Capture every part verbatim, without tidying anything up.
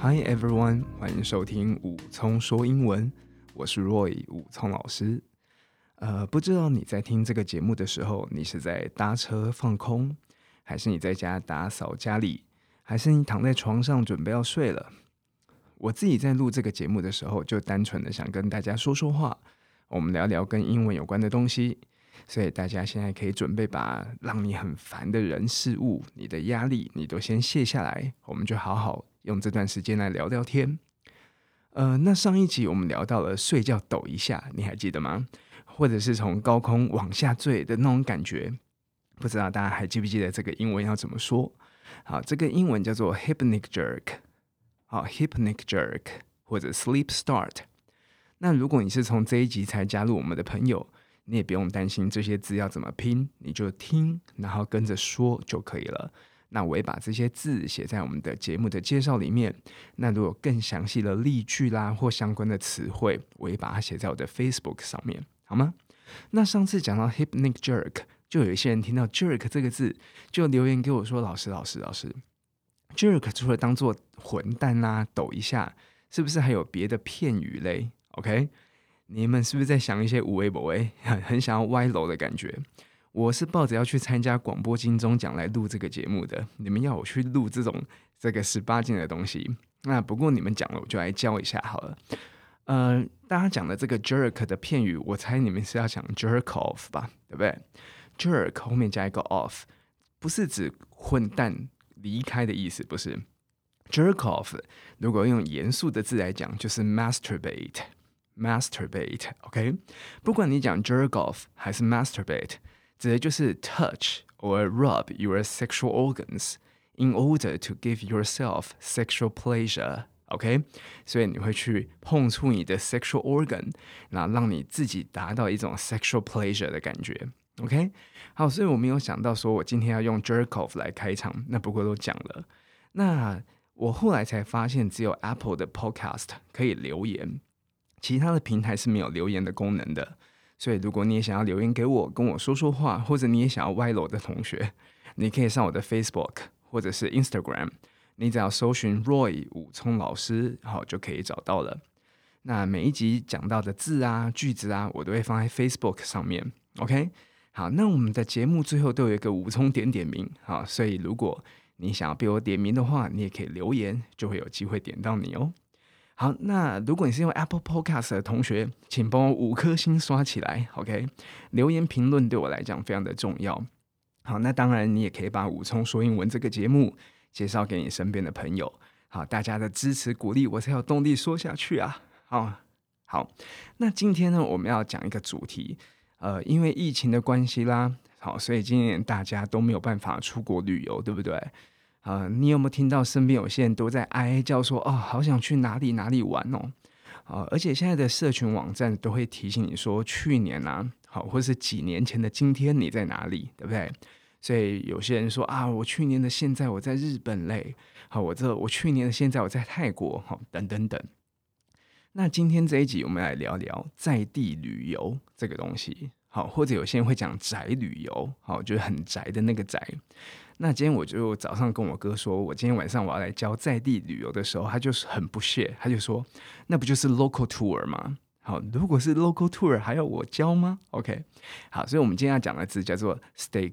Hi everyone， 歡迎收聽武聰說英文，我是 Roy 武聰老師。呃，不知道你在聽這個節目的時候，你是在搭車放空，還是你在家打掃家裡，還是你躺在床上準備要睡了？我自己在錄這個節目的時候，就單純的想跟大家說說話，我們聊聊跟英文有關的東西。所以大家現在可以準備把讓你很煩的人事物、你的壓力，你都先卸下來，我們就好好用這段時間來聊聊天。呃，那上一集我們聊到了睡覺抖一下，你還記得嗎？或者是從高空往下墜的那種感覺，不知道大家還記不記得這個英文要怎麼說？好，這個英文叫做 hypnic jerk， 好 hypnic jerk 或者 sleep start。那如果你是從這一集才加入我們的朋友，你也不用擔心這些字要怎麼拼，你就聽，然後跟着說就可以了。那我也把這些字寫在我們的節目的介紹裡面。那如果更詳細的例句啦或相關的詞彙，我也把它寫在我的 Facebook 上面，好嗎？那上次講到 hypnic jerk， 就有一些人聽到 jerk 這個字，就留言給我說：“老師，老師，老師 ，jerk 除了當做混蛋啦、抖一下，是不是還有別的片語嘞 ？”OK。你們是不是在想一些有的沒的，很想要歪樓的感覺？我是抱着要去參加廣播金鐘獎來錄這個節目的。你們要我去錄這種這個十八禁的東西，那不過你們講了，我就來教一下好了。呃，大家講的這個 jerk 的片語，我猜你們是要講 jerk off 吧，對不對 ？jerk 後面加一個 off， 不是指混蛋離開的意思，不是。jerk off 如果用嚴肅的字來講，就是 masturbate。masturbate，OK，、okay? 不管你講 jerk off 還是 masturbate， 指的就是 touch or rub your sexual organs in order to give yourself sexual pleasure，OK，、okay? 所以你會去碰觸你的 sexual organ， 然後讓你自己達到一種 sexual pleasure 的感覺 ，OK， 好，所以我沒有想到說我今天要用 jerk off 來開場，那不過都講了。那我後來才發現，只有 Apple 的 Podcast 可以留言。其他的平台是沒有留言的功能的，所以如果你也想要留言給我，跟我說說話，或者你也想要歪樓的同學，你可以上我的 Facebook 或者是 Instagram， 你只要搜尋 Roy 武聰老師，好就可以找到了。那每一集講到的字啊、句子啊，我都會放在 Facebook 上面。OK， 好，那我們的節目最後都有一個武聰點點名，好，所以如果你想要被我點名的話，你也可以留言，就會有機會點到你哦。好，那如果你是用 Apple Podcast 的同學，請幫我五顆星刷起來 ，OK？ 留言評論對我來講非常的重要。好，那當然你也可以把武聰說英文這個節目介紹給你身邊的朋友。好，大家的支持鼓勵我才有動力說下去啊。好，好，那今天呢，我們要講一個主題，呃，因為疫情的關係啦，好，所以今年大家都沒有辦法出國旅遊，對不對？呃，你有沒有聽到身邊有些人都在哀哀叫說，哦，好想去哪裡哪裡玩哦，呃，而且現在的社群網站都會提醒你說，去年啊，好，或是幾年前的今天你在哪裡，對不對？所以有些人說啊，我去年的現在我在日本嘞，好，我這我去年的現在我在泰國，好，等等等。那今天這一集我們來聊聊在地旅遊這個東西，好，或者有些人會講宅旅遊，好，就是很宅的那個宅。那今天我就早上跟我哥說，我今天晚上我要來教在地旅遊的時候，他就是很不屑，他就說，那不就是 local tour 嗎？好，如果是 local tour 還要我教嗎 ？OK， 好，所以我們今天要講的字叫做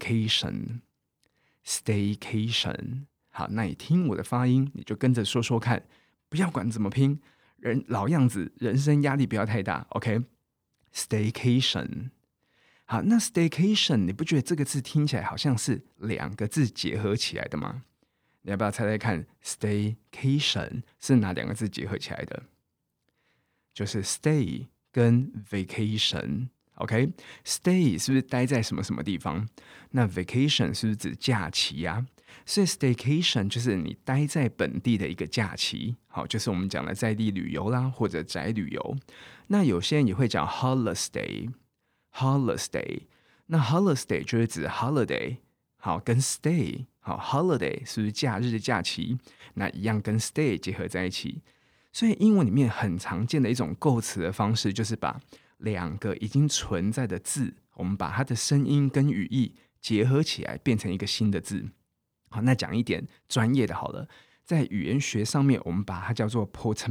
staycation。staycation， 好，那你聽我的發音，你就跟着說說看，不要管怎麼拼，人老樣子，人生壓力不要太大。OK，staycation。好，那 staycation 你不覺得這個字聽起來好像是兩個字結合起來的嗎？你要不要猜猜看 staycation 是哪兩個字結合起來的？就是 stay 跟 vacation。OK， stay 是不是待在什麼什麼地方？那 vacation 是不是指假期啊？所以 staycation 就是你待在本地的一個假期。好，就是我們講的在地旅遊啦，或者宅旅遊。那有些人也會講 holiday。holiday， 那 holiday 就是指 holiday， 好，跟 stay， 好 holiday 是不是假日的假期？那一樣跟 stay 結合在一起，所以英文裡面很常見的一種構詞的方式，就是把兩個已經存在的字，我們把它的聲音跟語義結合起來，變成一個新的字。好，那講一點專業的好了， 在語言學上面，我們把它叫做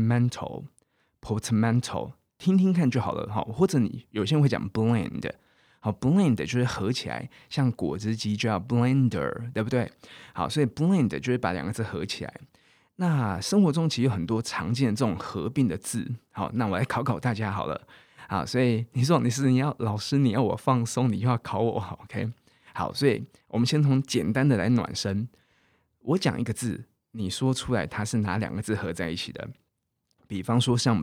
portmanteau，portmanteau， 聽聽看就好了，好，或者你有些人會講 blend， 好 blend 就是合起來，像果汁機就要 blender， 對不對？好，所以 blend 就是把兩個字合起來。那生活中其實有很多常見的這種合併的字，好，那我來考考大家好了，好，所以你說你是你要老師，你要我放鬆，你又要考我，好 ，OK， 好，所以我們先從簡單的來暖身。我講一個字，你說出來它是哪兩個字合在一起的？比方說像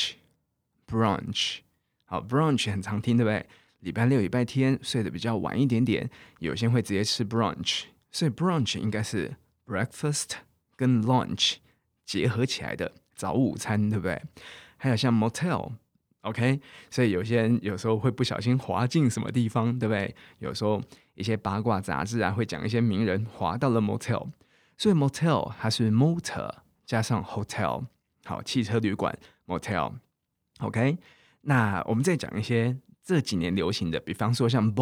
brunch，brunch， 好 ，brunch 很常聽，對不對？禮拜六、禮拜天睡得比較晚一點點，有些人會直接吃 brunch， 所以 brunch 應該是 breakfast 跟 lunch 結合起來的早午餐，對不對？還有像 motel，OK， 所以有些人有時候會不小心滑進什麼地方，對不對？有時候一些八卦雜誌啊會講一些名人滑到了 motel， 所以 motel 它是 motor 加上 hotel， 好，汽車旅館 motel，OK， 那我們再講一些這幾年流行的，比方說像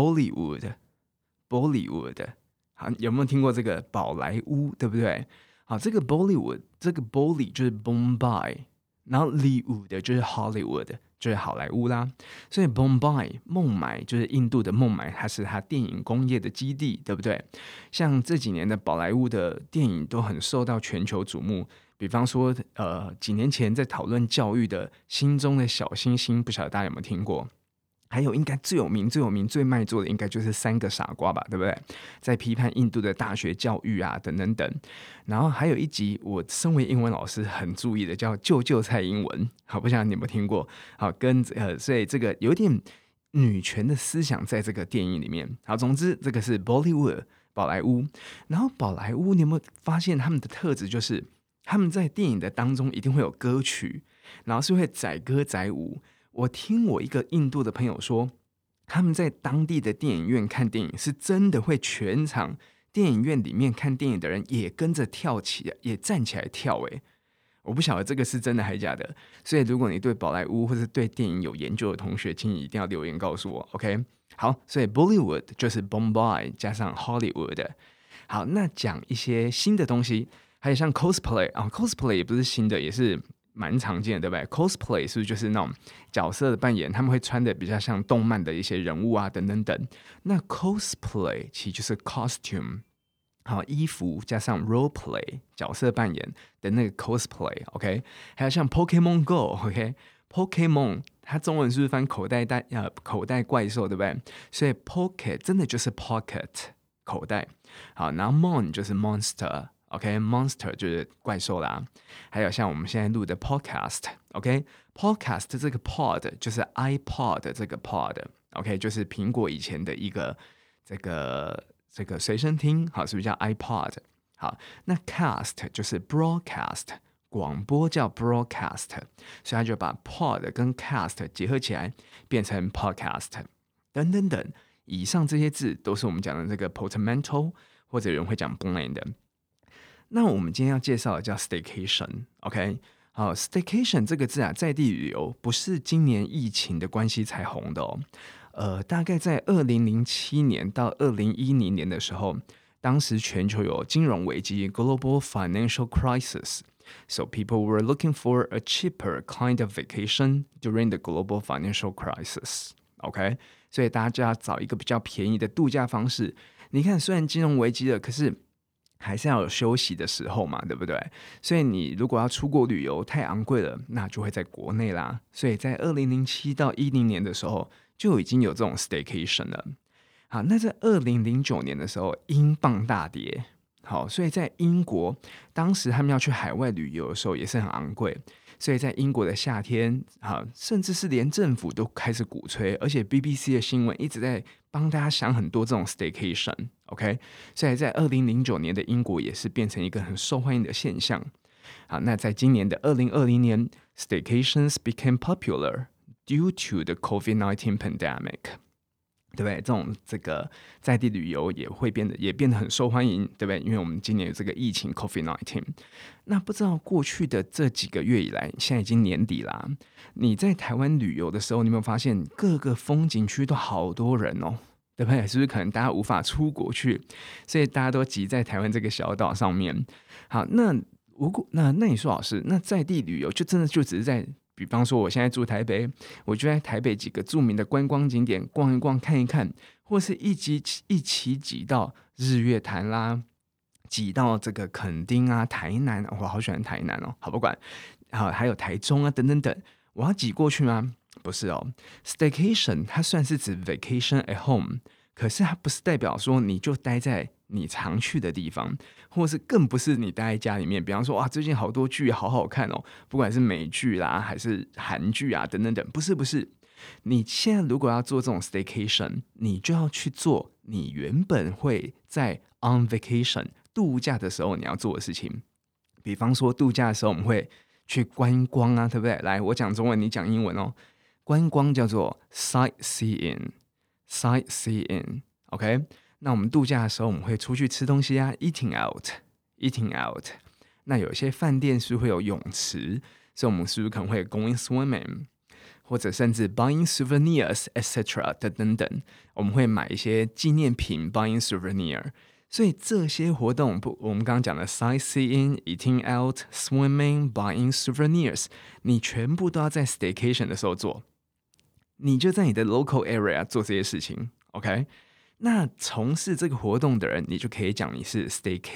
Bollywood，Bollywood， 好，有沒有聽過這個寶萊塢，對不對？好，這個 Bollywood， 這個 Bolly 就是 Bombay， 然後 Liwood 就是 Hollywood， 就是好萊塢啦。所以 Bombay 孟買就是印度的孟買，它是它電影工業的基地，對不對？像這幾年的寶萊塢的電影都很受到全球矚目。比方說，呃，幾年前在討論教育的心中的小星星，不曉得大家有沒有聽過？還有應該最有名、最有名、最賣座的，應該就是三個傻瓜吧，對不對？在批判印度的大學教育啊，等等等。然後還有一集，我身為英文老師很注意的，叫“救救蔡英文”。好，不曉得你有沒有聽過？好，跟呃，所以這個有點女權的思想在這個電影裡面。好，總之這個是 Bollywood 寶萊塢。然後寶萊塢，你有沒有發現他們的特質就是他們在電影的當中一定會有歌曲，然後是會載歌載舞。我聽我一個印度的朋友說，他們在當地的電影院看電影，是真的會全場電影院裡面看電影的人也跟着跳起，也站起來跳。誒，我不曉得這個是真的還是假的。所以如果你對寶萊塢或者對電影有研究的同學，請你一定要留言告訴我。OK， 好，所以 Bollywood 就是 Bombay 加上 Hollywood。好，那講一些新的東西，還有像 cosplay 啊 ，cosplay 也不是新的，也是蠻常見的，對不對 ？cosplay 是不是就是那種角色的扮演？他們會穿的比較像動漫的一些人物啊，等等等。那 cosplay 其實就是 costume， 好，衣服加上 role play 角色扮演的那個 cosplay，OK？、Okay? 還有像 Pokemon Go，OK？Pokemon、okay? 它中文是不是翻口袋袋呃口袋怪獸，對不對？所以 pocket 真的就是 pocket 口袋，好，然後 mon 就是 monster。OK，monster、okay, 就是怪獸啦，還有像我們現在錄的 podcast，OK，podcast、okay? 這個 pod 就是 iPod 這個 pod，OK，、okay? 就是蘋果以前的一個這個這個隨身聽，好，是不是叫 iPod？ 好，那 cast 就是 broadcast， 廣播叫 broadcast， 所以他就把 pod 跟 cast 結合起來變成 podcast， 等等等，以上這些字都是我們講的這個 portmanteau， 或者有人會講 blend 的。那我們今天要介紹的叫 staycation，OK？ 好 ，staycation 這個字啊，在地旅遊不是今年疫情的關係才紅的哦。呃，大概在二零零七年到二零一零年的時候，當時全球有金融危機 （global financial crisis），so people were looking for a cheaper kind of vacation during the global financial crisis。OK？ 所以大家就要找一個比較便宜的度假方式。你看，雖然金融危機了，可是還是要有休息的時候嘛，對不對？所以你如果要出國旅遊太昂貴了，那就會在國內啦。所以在二零零七到一零年的時候，就已經有這種 staycation 了。好，那在二零零九年的時候，英鎊大跌。好，所以在英國，當時他們要去海外旅遊的時候也是很昂貴。所以在英國的夏天，好，甚至是連政府都開始鼓吹，而且 B B C 的新聞一直在幫大家想很多這種 staycation。OK， 所以在二零零九年的英國也是變成一個很受歡迎的現象。好，那在今年的二零二零年 ，staycations became popular due to the COVID nineteen pandemic。對不對？這種這個在地旅遊也會變得也變得很受歡迎，對不對？因為我們今年有這個疫情 COVID nineteen。那不知道過去的這幾個月以來，現在已經年底啦，你在台灣旅遊的時候，你有沒有發現各個風景區都好多人哦？對不對？是不是可能大家無法出國去，所以大家都擠在台灣這個小島上面？好，那如果那那你說老師，那在地旅遊就真的就只是在，比方說我現在住台北，我就在台北幾個著名的觀光景點逛一逛看一看，或是一起一起擠到日月潭啦，擠到這個墾丁啊、台南，我好喜歡台南哦，好不管，好還有台中啊等等等，我要擠過去嗎？不是哦 ，staycation 它算是指 vacation at home， 可是它不是代表說你就待在你常去的地方，或是更不是你待在家裡面。比方說，哇，最近好多劇好好看哦，不管是美劇啦，還是韓劇啊，等等等，不是不是。你現在如果要做這種 staycation， 你就要去做你原本會在 on vacation 度假的時候你要做的事情。比方說，度假的時候我們會去觀光啊，對不對？來，我講中文，你講英文哦。觀光叫做 sightseeing，sightseeing，OK？ 那我們度假的時候，我們會出去吃東西啊 ，eating out，eating out。那有些飯店是會有泳池，所以我們是不是可能會 going swimming， 或者甚至 buying souvenirs，et cetera 等等等，我們會買一些紀念品 ，buying souvenir。所以這些活動，不，我們剛剛講的 sightseeing、eating out、swimming、buying souvenirs， 你全部都要在 staycation 的時候做。你就在你的 local area 做這些事情 ，OK？ 那從事這個活動的人，你就可以講你是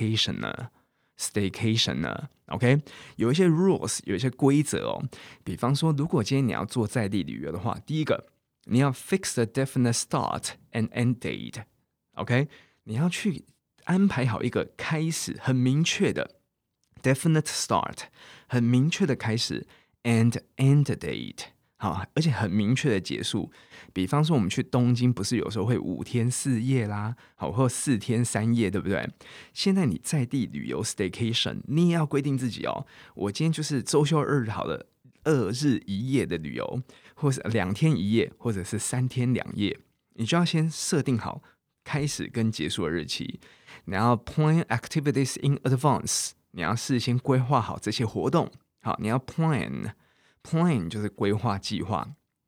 staycationer，staycationer，OK？ 有一些 rules， 有一些規則哦。比方說，如果今天你要做在地旅遊的話，第一個，你要 fix a definite start and end date，OK？ 你要去安排好一個開始很明確的 definite start， 很明確的開始 and end date。好，而且很明確的結束。比方說，我們去東京，不是有時候會五天四夜啦，好，或四天三夜，對不對？現在你在地旅遊 staycation， 你也要規定自己哦。我今天就是週休二日好了，二日一夜的旅遊，或是兩天一夜，或者是三天兩夜，你就要先設定好開始跟結束的日期。你要 plan activities in advance， 你要事先規劃好這些活動。好，你要 plan。Plan 就是規劃計劃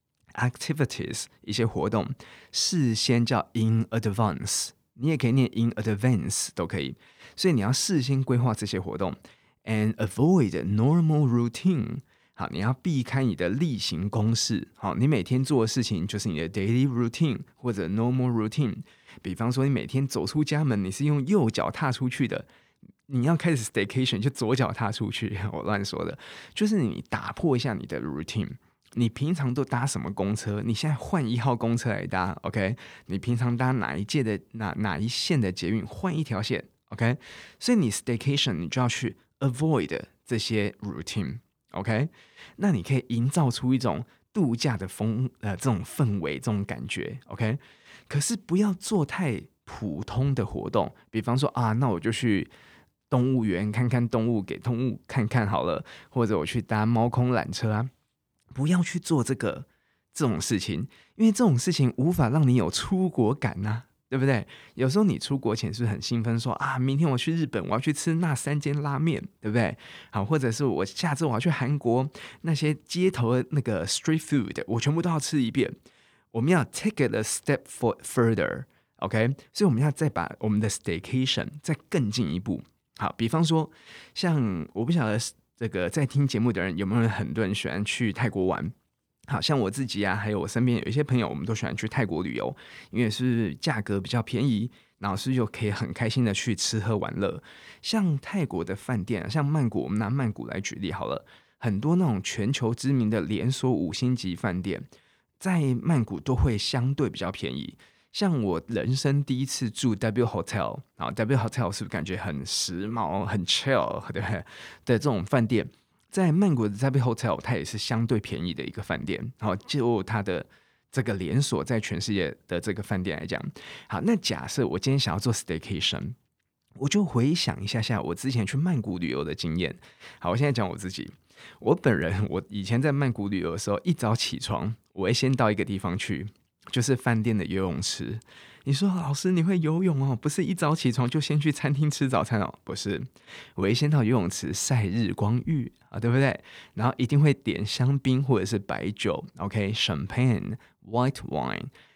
，activities 一些活動，事先叫 in advance， 你也可以念 in advance 都可以。所以你要事先規劃這些活動 ，and avoid normal routine。好，你要避開你的例行公事。好，你每天做的事情就是你的 daily routine 或者 normal routine。比方說，你每天走出家門，你是用右腳踏出去的。你要開始 staycation 就左腳踏出去，我亂說的，就是你打破一下你的 routine。你平常都搭什麼公車？你現在換一號公車來搭 ，OK？ 你平常搭哪一屆的哪哪一線的捷運，換一條線 ，OK？ 所以你 staycation 你就要去 avoid 這些 routine，OK？ 那你可以營造出一種度假的風呃這種氛圍，這種感覺 ，OK？ 可是不要做太普通的活動，比方說啊，那我就去動物園看看動物，給動物看看好了，或者我去搭貓空纜車啊，不要去做這個這種事情，因為這種事情無法讓你有出國感吶、啊，對不對？有時候你出國前是不是很興奮說，說啊，明天我去日本，我要去吃那三間拉麵，對不對？好，或者是我下次我要去韓國，那些街頭的那個 street food， 我全部都要吃一遍。我們要 take it a step for further，OK？、Okay? 所以我們要再把我們的 staycation 再更進一步。好，比方說，像我不曉得這個在聽節目的人有沒有很多人喜歡去泰國玩。好像我自己啊，還有我身邊有一些朋友，我們都喜歡去泰國旅遊，因為是價格比較便宜，然後是又可以很開心的去吃喝玩樂。像泰國的飯店，像曼谷，我們拿曼谷來舉例好了，很多那種全球知名的連鎖五星級飯店，在曼谷都會相對比較便宜。像我人生第一次住 W Hotel， 啊 W Hotel 是不是感覺很時髦、很 chill 對不對？的這種飯店，在曼谷的 W Hotel 它也是相對便宜的一個飯店。好，就它的這個連鎖在全世界的這個飯店來講，好，那假設我今天想要做 staycation， 我就回想一下下我之前去曼谷旅遊的經驗。好，我現在講我自己，我本人我以前在曼谷旅遊的時候，一早起床，我會先到一個地方去。就是飯店的游泳池。你說老師你會游泳哦？不是一早起床就先去餐廳吃早餐哦？不是，我會先到游泳池曬日光浴啊，對不對？然後一定會點香檳或者是白酒 ，OK， Champagne、White Wine，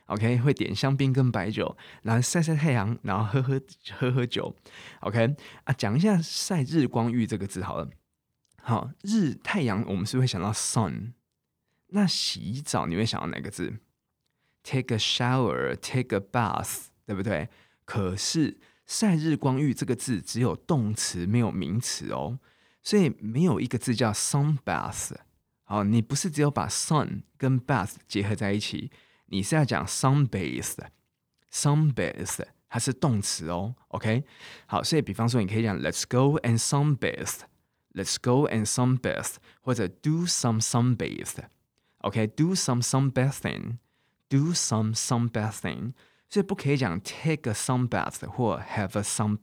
OK， 會點香檳跟白酒，然後曬曬太陽，然後喝喝喝喝酒。OK 啊，講一下曬日光浴這個字好了。好，日太陽我們是會想到 sun， 那洗澡你會想到哪個字？ Take a shower, take a bath， 對不對？可是曬日光浴這個字只有動詞沒有名詞哦，所以沒有一個字叫 sun bath。好，你不是只有把 sun 跟 bath 結合在一起。你是要講 sunbathe，sunbathe 它是動詞哦 ，OK？ 好，所以比方說你可以講 Let's go and sunbathe，Let's go and sunbathe， 或者 do some sunbathe，OK？Do some sunbathing，do some sunbathing， 所以不可以講 take a sunbath 或 have a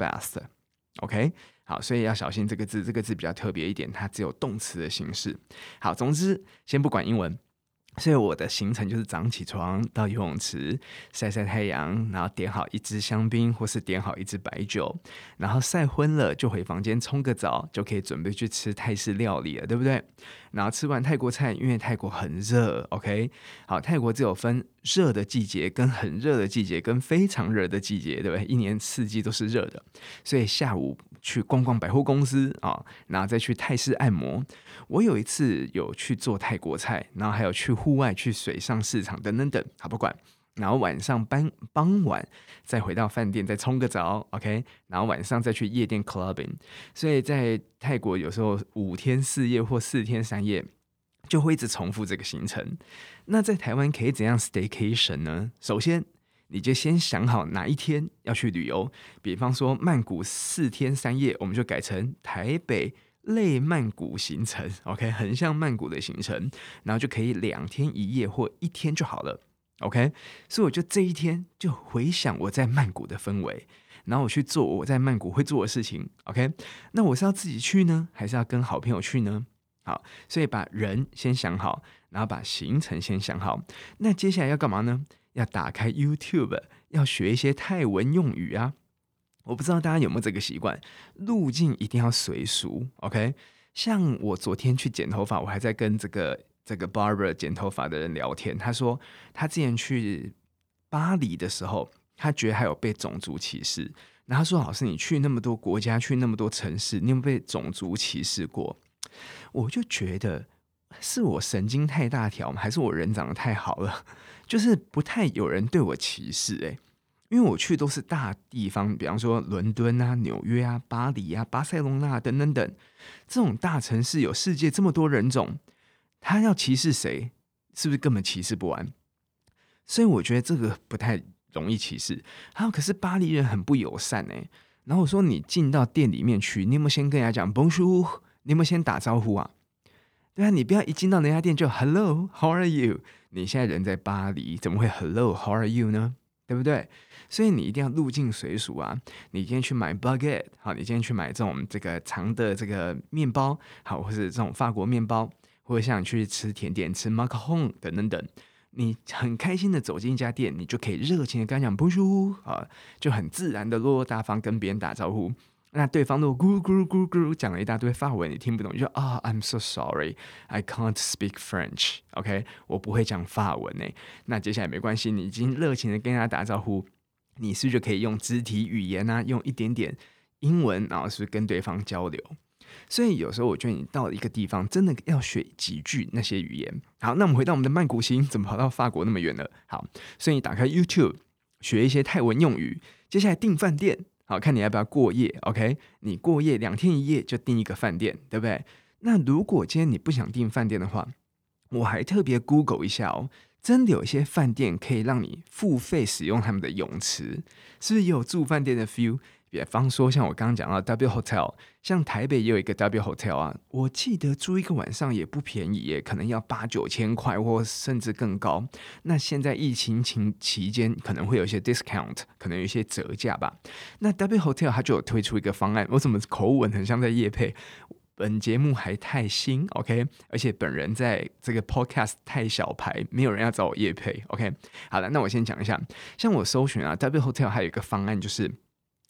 sunbath，OK？ 好，所以要小心這個字，這個字比較特別一點，它只有動詞的形式。好，總之先不管英文。所以我的行程就是早上起床到游泳池曬曬太陽，然後點好一支香檳或是點好一支白酒，然後曬昏了就回房間沖個澡，就可以準備去吃泰式料理了，對不對？然後吃完泰國菜，因為泰國很熱 ，OK？ 好，泰國只有分熱的季節跟很熱的季節跟非常熱的季節，對不對？一年四季都是熱的，所以下午去逛逛百貨公司啊，然後再去泰式按摩。我有一次有去做泰國菜，然後還有去戶外去水上市場等等等，好不管。然後晚上傍傍晚再回到飯店再沖個澡 ，OK， 然後晚上再去夜店 clubbing。所以在泰國有時候五天四夜或四天三夜就會一直重複這個行程。那在台灣可以怎樣 staycation 呢？首先你就先想好哪一天要去旅遊，比方說曼谷四天三夜，我們就改成台北類曼谷行程 ，OK， 很像曼谷的行程，然後就可以兩天一夜或一天就好了。OK， 所以我就這一天就回想我在曼谷的氛圍，然後我去做我在曼谷會做的事情。OK， 那我是要自己去呢，還是要跟好朋友去呢？好，所以把人先想好，然後把行程先想好。那接下來要幹嘛呢？要打開 YouTube， 要學一些泰文用語啊。我不知道大家有沒有這個習慣，路徑一定要隨俗。OK， 像我昨天去剪頭髮，我還在跟這個。這個 barber 剪頭髮的人聊天，他說他之前去巴黎的時候，他覺得還有被種族歧視。然後他說：“老師，你去那麼多國家，去那麼多城市，你有沒有被種族歧視過？”我就覺得是我神經太大條嗎？還是我人長得太好了？就是不太有人對我歧視哎、欸，因為我去都是大地方，比方說倫敦啊、紐約啊、巴黎啊、巴塞隆納等等等這種大城市，有世界這麼多人種。他要歧視誰？是不是根本歧視不完？所以我覺得這個不太容易歧視。還有，可是巴黎人很不友善哎。然後我說，你進到店裡面去，你有沒有先跟人家講 Bonjour？ 你有沒有先打招呼啊？對啊，你不要一進到那家店就 Hello，How are you？ 你現在人在巴黎，怎麼會 Hello，How are you 呢？對不對？所以你一定要入境隨俗啊！你今天去買 baguette， 好，你今天去買這種這個長的這個麵包，好，或是這種法國麵包。或者像你去吃甜點，吃 macaron 等等等，你很開心的走進一家店，你就可以熱情的跟他講 Bonjour 啊，就很自然的落落大方跟別人打招呼。那對方如果咕咕咕咕講了一大堆法文，你聽不懂，你就啊、oh, I'm so sorry, I can't speak French。OK， 我不會講法文誒。那接下來沒關係，你已經熱情的跟他打招呼，你是不是就可以用肢體語言啊，用一點點英文，然後是不是跟對方交流？所以有時候我覺得你到了一個地方，真的要學幾句那些語言。好，那我們回到我們的曼谷行，怎麼跑到法國那麼遠了？好，所以你打開 YouTube 學一些泰文用語。接下來訂飯店，好，看你要不要過夜。OK， 你過夜兩天一夜就訂一個飯店，對不對？那如果今天你不想訂飯店的話，我還特別 Google 一下哦，真的有一些飯店可以讓你付費使用他們的泳池，是不是也有住飯店的 feel？比方說，像我剛剛講到 W Hotel， 像台北也有一個 W Hotel 啊，我記得住一個晚上也不便宜耶，可能要八九千塊，或甚至更高。那現在疫情期期間可能會有一些 discount， 可能有一些折價吧。那 W Hotel 它就有推出一個方案，我怎麼口吻很像在業配？本節目還太新 ，OK， 而且本人在這個 podcast 太小牌，沒有人要找我業配 ，OK。好了，那我先講一下，像我搜尋啊 ，W Hotel 還有一個方案就是。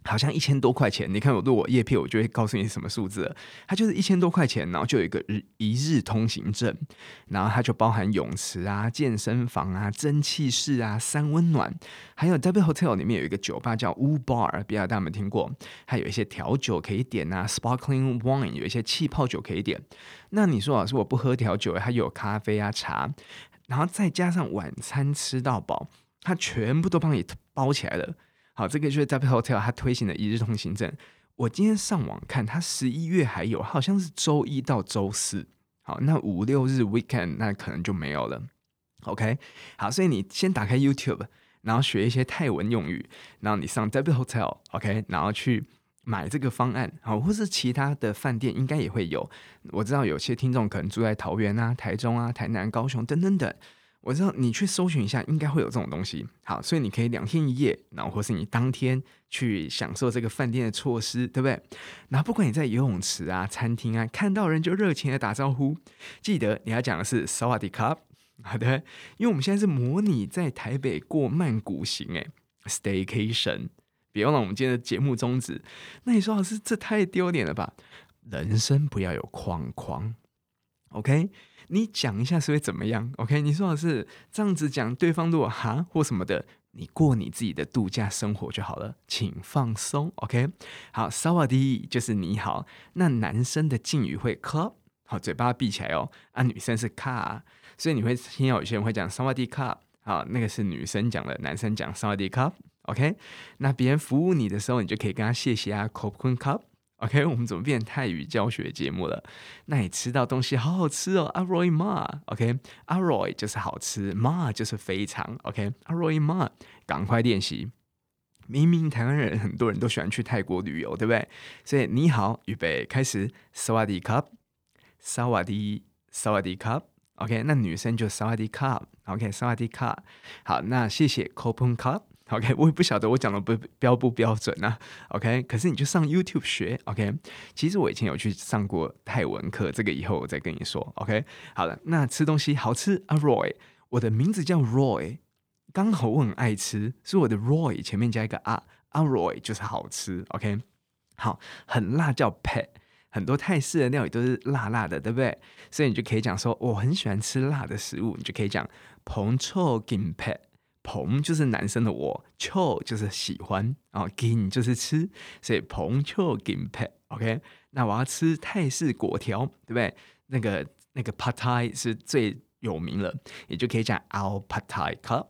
好像一千多塊錢，你看我錄我業配，我就會告訴你什麼數字了。它就是一千多塊錢，然後就有一個日一日通行證，然後它就包含泳池啊、健身房啊、蒸汽室啊、三溫暖，還有 W Hotel 裡面有一個酒吧叫 U Bar， 不知道大家有沒有聽過？還有一些調酒可以點啊 ，Sparkling Wine 有一些氣泡酒可以點。那你說老師我不喝調酒，它有咖啡啊、茶，然後再加上晚餐吃到飽，它全部都幫你包起來了。好，這個就是 W Hotel 它推行的一日通行證。我今天上網看，它十一月還有，好像是周一到周四。好，那五六日 weekend 那可能就沒有了。OK， 好，所以你先打開 YouTube， 然後學一些泰文用語，然後你上 W Hotel，OK， 然後去買這個方案，好，或是其他的飯店應該也會有。我知道有些聽眾可能住在桃園啊、台中啊、台南、高雄等等等。我知道你去搜尋一下，應該會有這種東西。好，所以你可以兩天一夜，然後或是你當天去享受這個飯店的措施，對不對？然後不管你在游泳池啊、餐廳啊，看到人就熱情的打招呼。記得你要講的是薩瓦迪卡，好的，因為我們現在是模擬在台北過曼谷行，哎 ，staycation。別忘了我們今天的節目宗旨。那你說老師，這太丟臉了吧？人生不要有框框 ，OK？你講一下是會怎麼樣 ？OK？ 你說的是這樣子講，對方如果哈或什麼的，你過你自己的度假生活就好了，請放鬆 ，OK？ 好，薩瓦迪就是你好。那男生的敬語會 club， 好，嘴巴閉起來哦。啊，女生是卡，所以你會聽到有些人會講薩瓦迪卡，好，那個是女生講的，男生講薩瓦迪卡 ，OK？ 那別人服務你的時候，你就可以跟他謝謝啊 ，khop kun kap。OK， 我們怎麼變成泰語教學節目了？那你吃到東西好好吃哦 ，Aroy ma，OK，Aroy 就是好吃 ，ma 就是非常 ，OK，Aroy ma， 趕快練習。明明台灣人很多人都喜歡去泰國旅遊，對不對？所以你好，預備開始，薩瓦迪卡，薩瓦迪，薩瓦迪卡 ，OK， 那女生就薩瓦迪卡 ，OK， 薩瓦迪卡。好，那謝謝 ，khop kun kap。OK， 我也不曉得我講的不標不標準啊。OK， 可是你就上 YouTube 學。OK， 其實我以前有去上過泰文課，這個以後我再跟你說。OK， 好了，那吃東西好吃啊 ，Roy， 我的名字叫 Roy， 剛好我很愛吃，所以我的 Roy 前面加一個啊，啊 Roy 就是好吃。OK， 好，很辣叫 Pet， 很多泰式的料理都是辣辣的，對不對？所以你就可以講說我很喜歡吃辣的食物，你就可以講彭臭金 Pet。彭就是男生的我，臭就是喜歡啊，金就是吃，所以彭臭金配 OK。那我要吃泰式粿條，對不對？那個那個 Pad Thai 是最有名了，也就可以講 Ao Pad Thai cup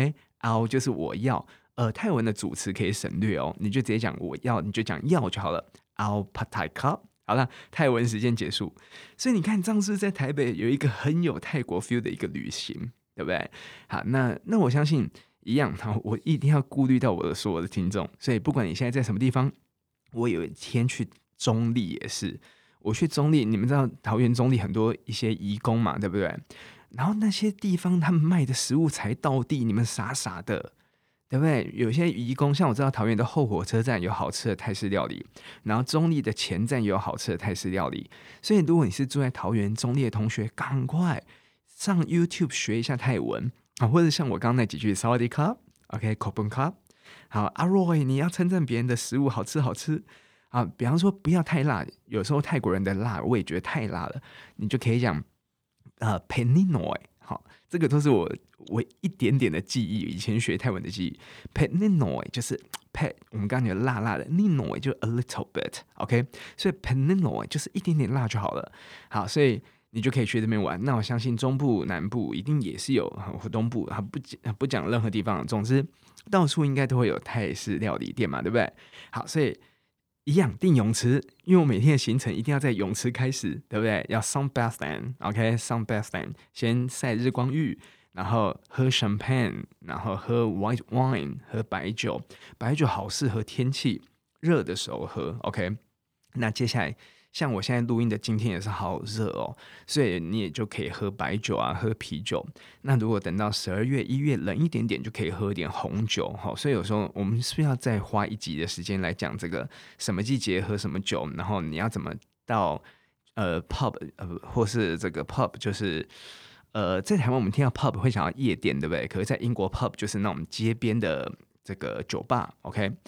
OK。Ao 就是我要，呃，泰文的主詞可以省略哦，你就直接講我要，你就講要就好了。Ao Pad Thai cup。好了，泰文時間結束。所以你看，這樣是不是在台北有一個很有泰國 feel 的一個旅行？對不對？好，那那我相信一樣，好，我一定要顧慮到我的所有的聽眾，所以不管你現在在什麼地方，我有一天去中壢也是，我去中壢，你們知道桃園中壢很多一些移工嘛，對不對？然後那些地方他們賣的食物才道地，你們傻傻的，對不對？有些移工，像我知道桃園的後火車站有好吃的泰式料理，然後中壢的前站也有好吃的泰式料理，所以如果你是住在桃園中壢的同學，趕快上 YouTube 學一下泰文啊，或者像我剛剛那幾句薩瓦迪卡 OK，khop kun kap。好，阿 Roy 你要稱讚別人的食物好吃好吃啊，比方說不要太辣，有時候泰國人的辣我也覺得太辣了，你就可以講呃 Peninoy。好，這個都是我我一點點的記憶，以前學泰文的記憶。Peninoy 就是 Pet， 我們剛剛講辣辣的 ，Ninoy 就 a little bit OK， 所以 Peninoy 就是一點點辣就好了。好，所以你就可以去這邊玩。那我相信中部、南部一定也是有，或東部啊，不講不講任何地方，總之到處應該都會有泰式料理店嘛，對不對？好，所以一樣訂泳池，因為我每天的行程一定要在泳池開始，對不對？要 sunbathing OK sunbathing 先曬日光浴，然後喝 champagne， 然後喝 white wine， 喝白酒。白酒好適合天氣熱的時候喝 OK。那接下來，像我現在錄音的今天也是好熱哦，所以你也就可以喝白酒啊，喝啤酒。那如果等到十二月、一月冷一點點，就可以喝一點紅酒。好，所以有時候我們是不是要再花一集的時間來講這個什麼季節喝什麼酒，然後你要怎麼到呃 pub 呃或是這個 pub 就是呃在台灣我們聽到 pub 會想要夜店，對不對？可是在英國 pub 就是那種街邊的這個酒吧。OK。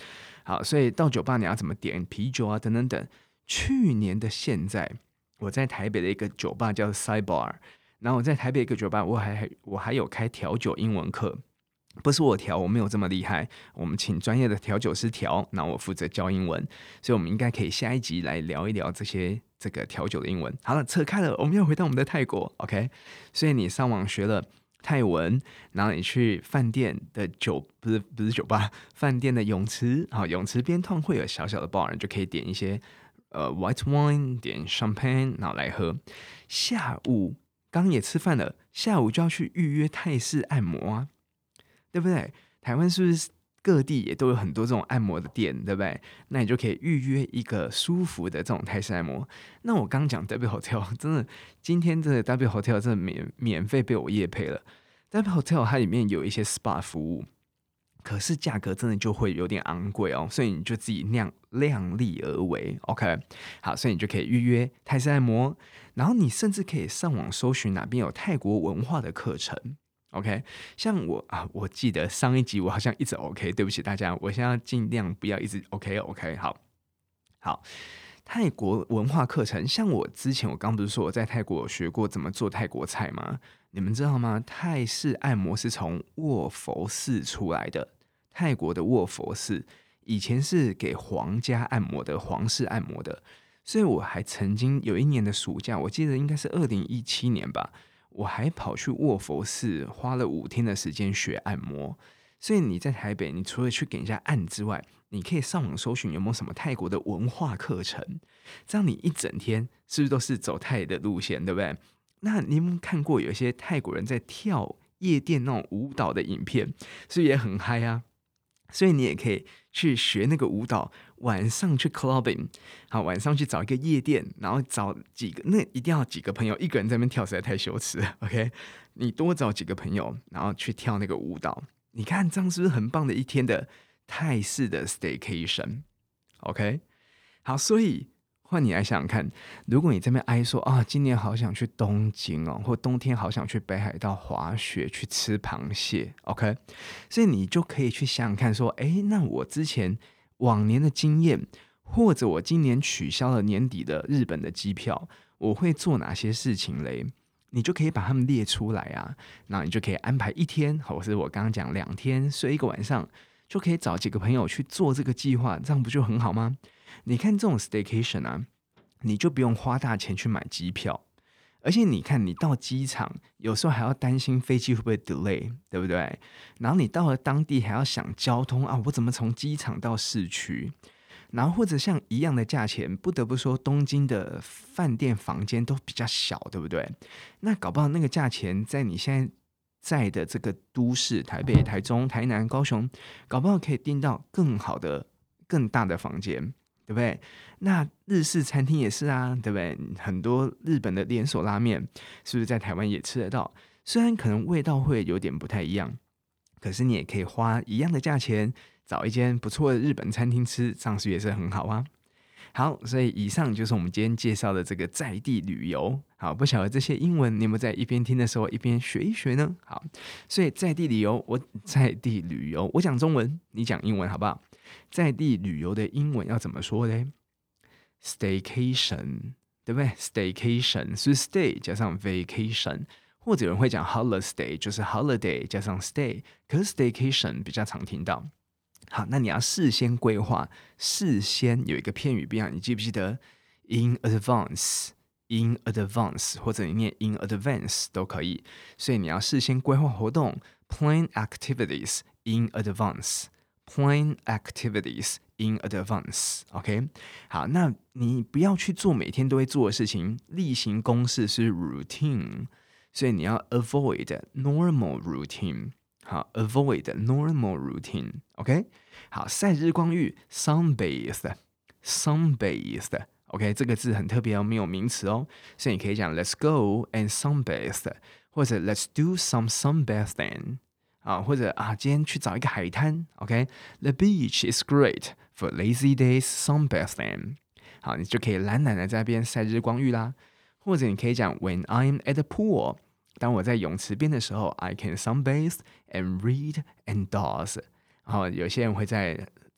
好，所以到酒吧你要怎麼點啤酒啊，等等等。去年的現在，我在台北的一個酒吧叫 Sidebar， 然後我在台北一個酒吧，我還我還有開調酒英文課。不是我調，我沒有這麼厲害。我們請專業的調酒師調，那我負責教英文。所以，我們應該可以下一集來聊一聊這些這個調酒的英文。好了，扯開了，我們要回到我們的泰國 ，OK？ 所以你上網學了泰文，然後你去飯店的酒不是不是酒吧，飯店的泳池，好，泳池邊通常會有小小的 bar， 就可以點一些呃 white wine， 點 champagne， 然後來喝。下午剛也吃飯了，下午就要去預約泰式按摩啊。對不對？台灣是不是各地也都有很多這種按摩的店，對不對？那你就可以預約一個舒服的這種泰式按摩。那我剛講 W Hotel， 真的，今天這個 W Hotel 真的免免費被我業配了。W Hotel 它裡面有一些 S P A 服務，可是價格真的就會有點昂貴哦，所以你就自己量量力而為 ，OK？ 好，所以你就可以預約泰式按摩，然後你甚至可以上網搜尋哪邊有泰國文化的課程。OK， 像我啊，我記得上一集我好像一直 OK， 對不起大家，我現在要盡量不要一直 OK OK， 好，好，泰國文化課程，像我之前我剛不是說我在泰國有學過怎麼做泰國菜嗎？你們知道嗎？泰式按摩是從臥佛寺出來的，泰國的臥佛寺以前是給皇家按摩的，皇室按摩的，所以我還曾經有一年的暑假，我記得應該是二零一七年吧。我還跑去臥佛寺，花了五天的時間學按摩。所以你在台北，你除了去給人家按之外，你可以上網搜尋有沒有什麼泰國的文化課程。這樣你一整天是不是都是走泰的路線，對不對？那你有沒有看過有一些泰國人在跳夜店那種舞蹈的影片，所以也很嗨啊？所以你也可以去學那個舞蹈，晚上去 clubbing， 好，晚上去找一個夜店，然後找幾個，那一定要幾個朋友，一個人在那邊跳實在太羞恥了 ，OK？ 你多找幾個朋友，然後去跳那個舞蹈，你看這樣是不是很棒的一天的泰式的 staycation？OK？ 好，所以。換你來想想看，如果你這邊哀說啊，今年好想去東京哦，或冬天好想去北海道滑雪，去吃螃蟹 ，OK？ 所以你就可以去想想看，說，哎，那我之前往年的經驗，或者我今年取消了年底的日本的機票，我會做哪些事情嘞？你就可以把它們列出來啊，然後你就可以安排一天，或是我剛剛講兩天，睡一個晚上，就可以找幾個朋友去做這個計劃，這樣不就很好嗎？你看這種 staycation 啊，你就不用花大錢去買機票，而且你看你到機場，有時候還要擔心飛機會不會 delay， 對不對？然後你到了當地還要想交通啊，我怎麼從機場到市區？然後或者像一樣的價錢，不得不說東京的飯店房間都比較小，對不對？那搞不好那個價錢在你現在在的這個都市，台北、台中、台南、高雄，搞不好可以訂到更好的、更大的房間。對不對？那日式餐廳也是啊，對不對？很多日本的連鎖拉麵，是不是在台灣也吃得到？雖然可能味道會有點不太一樣，可是你也可以花一樣的價錢，找一間不錯的日本餐廳吃，這樣是不是也是很好啊？好，所以以上就是我們今天介紹的這個在地旅遊。好，不曉得這些英文你有沒有在一邊聽的時候一邊學一學呢？好，所以在地旅遊，我在地旅遊，我講中文，你講英文，好不好？在地旅遊的英文要怎麼說呢？ Staycation， 對不對？ Staycation 是 stay 加上 vacation， 或者有人會講 holiday， 就是 holiday 加上 stay， 可是 staycation 比較常聽到。好，那你要事先規劃，事先有一個片語變化，你記不記得 in advance in advance 或者你念 in advance 都可以，所以你要事先規劃活動 plan activities in advance plan activities in advance OK 好，那你不要去做每天都會做的事情，例行公事是 routine， 所以你要 avoid normal routine，好 ，avoid normal routine，OK，、okay? 好，曬日光浴 sunbathe，sunbathe，OK，、okay? 這個字很特別哦，沒有名詞哦，所以你可以講 Let's go and sunbathe， 或者 Let's do some sunbathing， 啊，或者啊，今天去找一個海灘 ，OK，The beach is great for lazy days sunbathing， 好，你就可以懶懶的在那邊曬日光浴啦，或者你可以講 When I'm at the pool。當我在泳池邊的時候 ，I can sunbathe and read and doze。然後有些人會在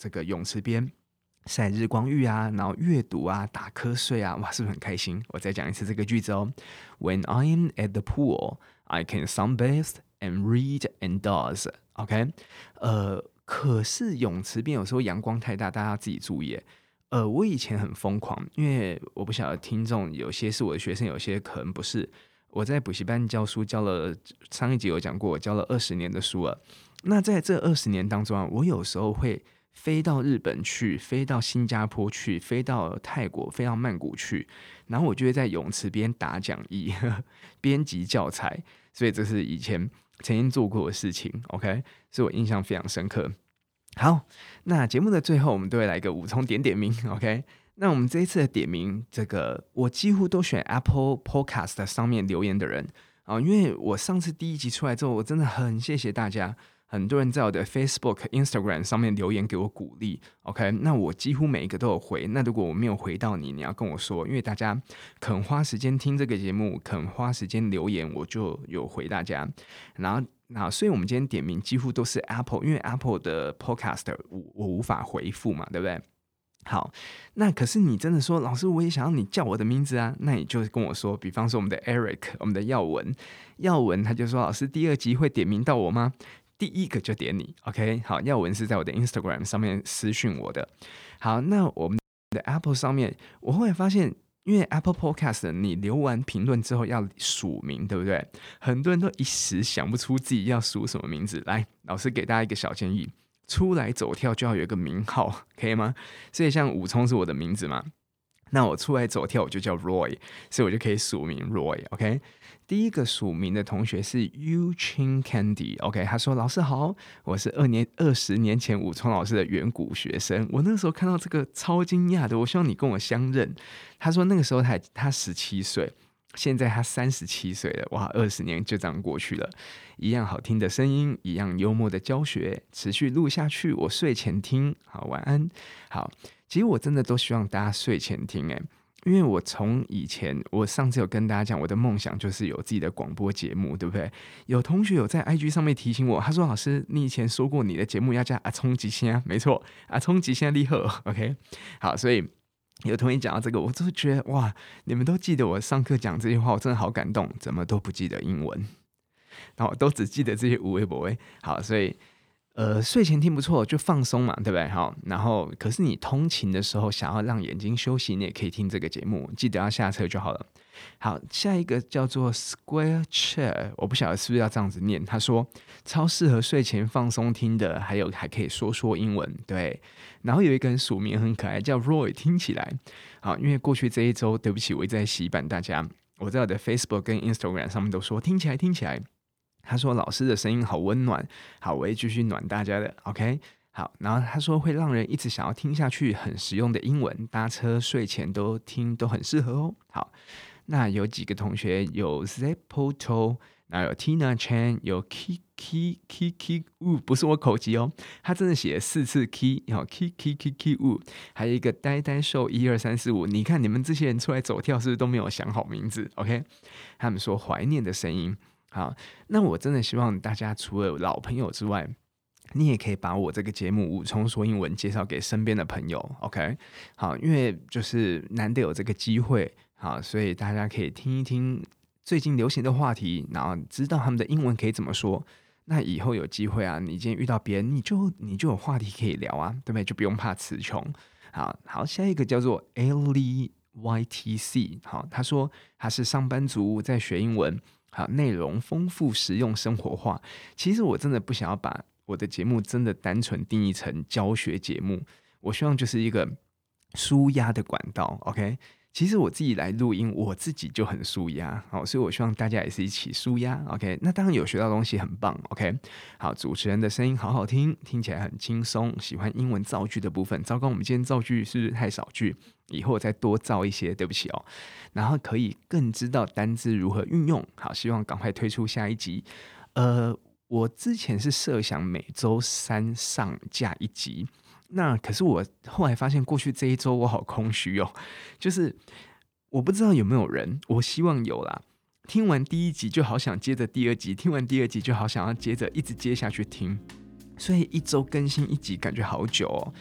這個泳池邊曬日光浴啊，然後閱讀啊，打瞌睡啊，哇，是不是很開心？我再講一次這個句子哦。When I am at the pool, I can sunbathe and read and doze. OK， 呃，可是泳池邊有時候陽光太大，大家要自己注意。呃，我以前很瘋狂，因為我不曉得聽眾有些是我的學生，有些可能不是。我在補習班教書，教了上一集有講過，我教了二十年的書了。那在這二十年當中啊，我有時候會飛到日本去，飛到新加坡去，飛到泰國，飛到曼谷去，然後我就會在泳池邊打講義，編輯教材。所以這是以前曾經做過的事情 ，OK， 所以我印象非常深刻。好，那節目的最後，我們都會來一個武聰點點名 ，OK。那我們這一次的點名，這個我幾乎都選 Apple Podcast 上面留言的人啊，因為我上次第一集出來之後，我真的很謝謝大家，很多人在我的 Facebook、Instagram 上面留言給我鼓勵 ，OK， 那我幾乎每一個都有回。那如果我沒有回到你，你要跟我說，因為大家肯花時間聽這個節目，肯花時間留言，我就有回大家。然後，那所以我們今天點名幾乎都是 Apple， 因為 Apple 的 Podcast 我我無法回復嘛，對不對？好，那可是你真的說，老師，我也想要你叫我的名字啊，那你就跟我說，比方說我們的 Eric， 我們的耀文，耀文他就說，老師第二集會點名到我嗎？第一個就點你 ，OK， 好，耀文是在我的 Instagram 上面私訊我的。好，那我們的 Apple 上面，我後來發現，因為 Apple Podcast 你留完評論之後要署名，對不對？很多人都一時想不出自己要署什麼名字，來，老師給大家一個小建議。出來走跳就要有一個名號，可以嗎？所以像武聰是我的名字嘛，那我出來走跳我就叫 Roy， 所以我就可以署名 Roy。OK， 第一個署名的同學是 Yu Chin Candy。OK， 他說：“老師好，我是二年二十年前武聰老師的遠古學生，我那個時候看到這個超驚訝的，我希望你跟我相認。”他說那個時候他他十七歲。現在他三十七歲了，哇，二十年就這樣過去了。一樣好聽的聲音，一樣幽默的教學，持續錄下去。我睡前聽，好，晚安。好，其實我真的都希望大家睡前聽，誒，因為我從以前，我上次有跟大家講，我的夢想就是有自己的廣播節目，對不對？有同學有在 I G 上面提醒我，他說：“老師，你以前說過你的節目要叫阿聰吉先，沒錯，阿聰吉先厲害。” OK， 好，所以。有同學講到這個，我就覺得哇，你們都記得我上課講這些話，我真的好感動。怎麼都不記得英文，然後都只記得這些無微不微。好，所以呃，睡前聽不錯，就放鬆嘛，對不對？好，然後可是你通勤的時候想要讓眼睛休息，你也可以聽這個節目，記得要下車就好了。好，下一個叫做 Square Chair， 我不曉得是不是要這樣子念。他說超適合睡前放鬆聽的，還有還可以說說英文，對。然後有一個人署名很可愛，叫 Roy， 聽起來好，因為過去這一周，對不起，我一直在洗版大家，我在我的 Facebook 跟 Instagram 上面都說聽起來聽起來。他說老師的聲音好溫暖，好，我會繼續暖大家的 ，OK。好，然後他說會讓人一直想要聽下去，很實用的英文，搭車睡前都聽都很適合哦。好。那有幾個同學有 Zepoto， 然後有 Tina Chan， 有 Kiki Kiki Wu， 不是我口技哦，他真的寫了四次 K， 然後 Kiki Kiki Wu， 還有一個呆呆獸一二三四五，你看你們這些人出來走跳是不是都沒有想好名字 ？OK， 他們說懷念的聲音。好，那我真的希望大家除了老朋友之外，你也可以把我這個節目武聰說英文介紹給身邊的朋友 ，OK？ 好，因為就是難得有這個機會。好，所以大家可以聽一聽最近流行的話題，然後知道他們的英文可以怎麼說。那以後有機會啊，你今天遇到別人，你就你就有話題可以聊啊，對不對？就不用怕詞窮。好好，下一個叫做 Ellie Y T C， 好，他說他是上班族在學英文，好，內容豐富、實用、生活化。其實我真的不想要把我的節目真的單純定義成教學節目，我希望就是一個紓壓的管道 ，OK。其實我自己來錄音，我自己就很紓壓，好，所以我希望大家也是一起紓壓 ，OK。那當然有學到東西很棒 ，OK。好，主持人的聲音好好聽，聽起來很輕鬆，喜歡英文造句的部分。糟糕，我們今天造句是不是太少句？以後再多造一些，對不起哦。然後可以更知道單字如何運用。好，希望趕快推出下一集。呃，我之前是設想每周三上架一集。那可是我後來發現，過去這一周我好空虛哦，就是我不知道有沒有人，我希望有啦。聽完第一集就好想接着第二集，聽完第二集就好想要接着一直接下去聽，所以一周更新一集感覺好久哦。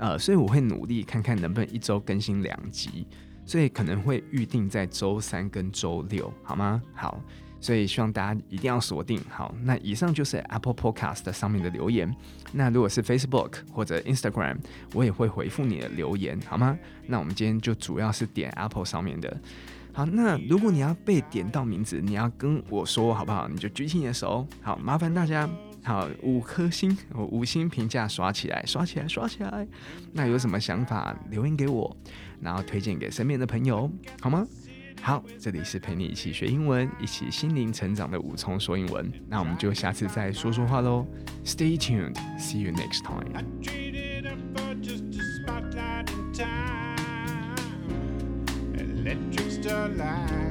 呃，所以我會努力看看能不能一周更新兩集，所以可能會預定在周三跟周六，好嗎？好，所以希望大家一定要鎖定。好，那以上就是 Apple Podcast 上面的留言。那如果是 Facebook 或者 Instagram， 我也會回復你的留言，好嗎？那我們今天就主要是點 Apple 上面的。好，那如果你要被點到名字，你要跟我說好不好？你就舉起你的手。好，麻煩大家。好，五顆星，我五星評價刷起來，刷起來，刷起來。那有什麼想法留言給我，然後推薦給身邊的朋友，好嗎？好，這裡是陪你一起學英文，一起心靈成長的武聰說英文。那我們就下次再說說話嘍。Stay tuned, see you next time. Electric starlight.